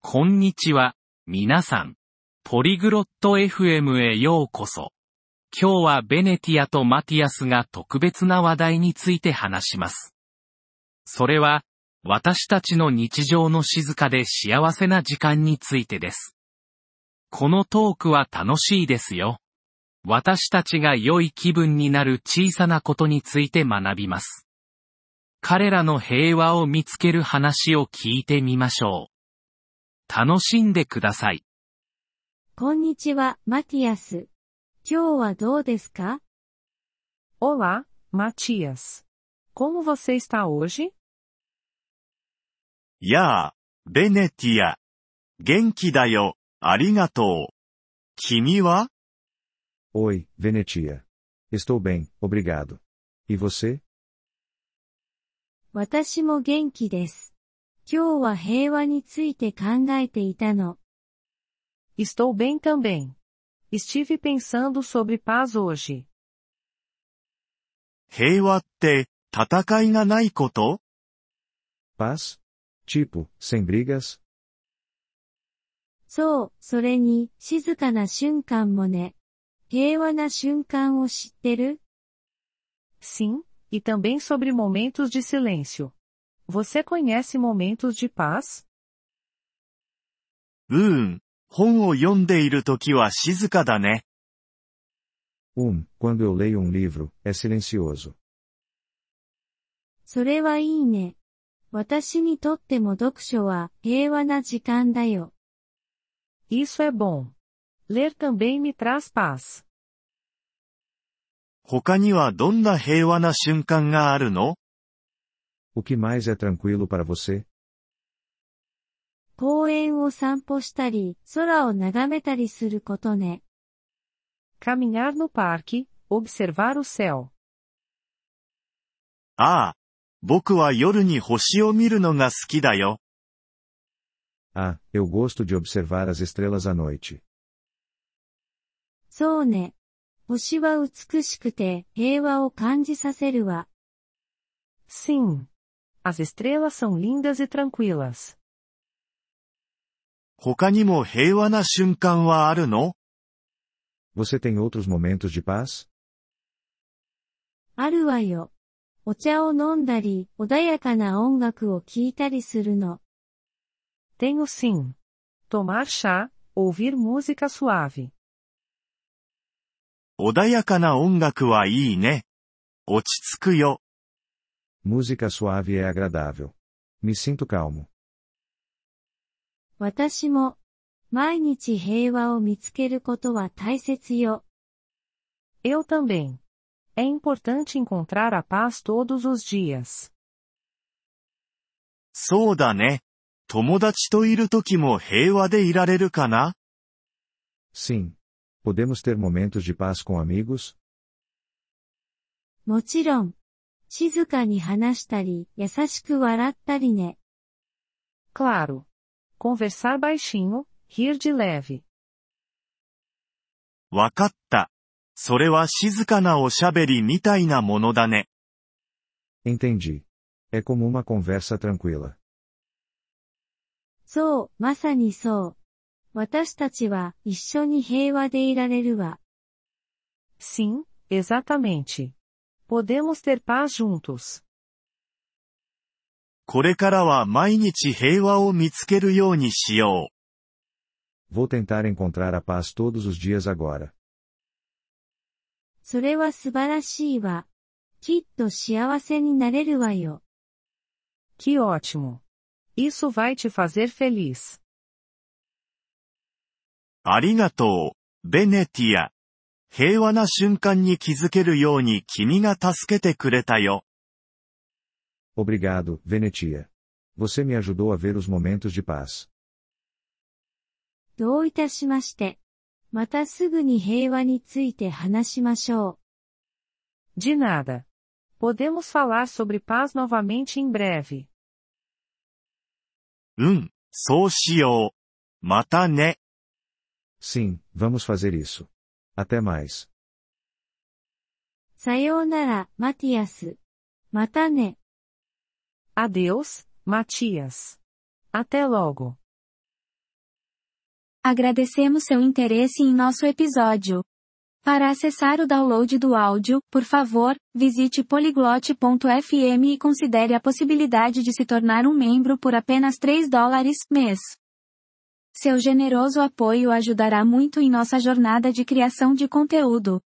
こんにちは、皆さん。ポリグロット FM へようこそ。今日はベネティアとマティアスが特別な話題について話します。それは、私たちの日常の静かで幸せな時間についてです。このトークは楽しいですよ。私たちが良い気分になる小さなことについて学びます。彼らの平和を見つける話を聞いてみましょう。楽しんでください。 こんにちは、マティアス。今日はどうですか？ Olá, Matias. Como você está hoje? やあ、ベネティア。元気だよ、ありがとう。君は？ Oi, Venetia. Estou bem, obrigado. E você? 私も元気です。今日は平和について考えていたの。 Estou bem também. Estive pensando sobre paz hoje. 平和って、戦いがないこと？ Paz? Tipo, sem brigas? そう、それに、静かな瞬間もね。平和な瞬間を知ってる？ Sim, e também sobre momentos de silêncio. Você conhece momentos de paz? 本を読んでいるときは静かだね。 Quando eu leio livro, é silencioso. それはいいね。私にとっても読書は平和な時間だよ。 Isso é bom. Ler também me traz paz. 他にはどんな平和な瞬間があるの？ O que mais é tranquilo para você? 公園を散歩したり、空を眺めたりすることね。 Caminhar no parque, observar o céu. ああ、僕は夜に星を見るのが好きだよ。 Ah, eu gosto de observar as estrelas à noite. そうね。星は美しくて平和を感じさせるわ。 Sim. As estrelas são lindas e tranquilas. 他にも平和な瞬間はあるの？ Você tem outros momentos de paz? あるわよ。お茶を飲んだり、穏やかな音楽を聴いたりするの。 Tenho sim. Tomar chá, ouvir música suave. 穏やかな音楽はいいね。落ち着くよ。 Música suave é agradável. Me sinto calmo. 私も、毎日平和を見つけることは大切よ。 Eu também. É importante encontrar a paz todos os dias. そうだね。友達といるときも平和でいられるかな？ Sim. Podemos ter momentos de paz com amigos? もちろん。静かに話したり、優しく笑ったりね。 Claro. Conversar baixinho, rir de leve. わかった。それは静かなおしゃべりみたいなものだね。 Entendi. É como uma conversa tranquila. そう、まさにそう。私たちは一緒に平和でいられるわ。 Sim, exatamente. Podemos ter paz juntos. これからは毎日平和を見つけるようにしよう。 Vou tentar encontrar a paz todos os dias agora. それは素晴らしいわ。きっと幸せになれるわよ。 Que ótimo. Isso vai te fazer feliz. ありがとう、ベネティア。平和な瞬間に気づけるように君が助けてくれたよ。 Obrigado, Venetia. Você me ajudou a ver os momentos de paz. どういたしまして。またすぐに平和について話しましょう。 De nada. Podemos falar sobre paz novamente em breve. そうしよう。またね。 Sim, vamos fazer isso. Até mais. さようなら、マティアス。またね。 Adeus, Matias. Até logo. Agradecemos seu interesse em nosso episódio. Para acessar o download do áudio, por favor, visite polyglot.fm e considere a possibilidade de se tornar um membro por apenas $3 mês. Seu generoso apoio ajudará muito em nossa jornada de criação de conteúdo.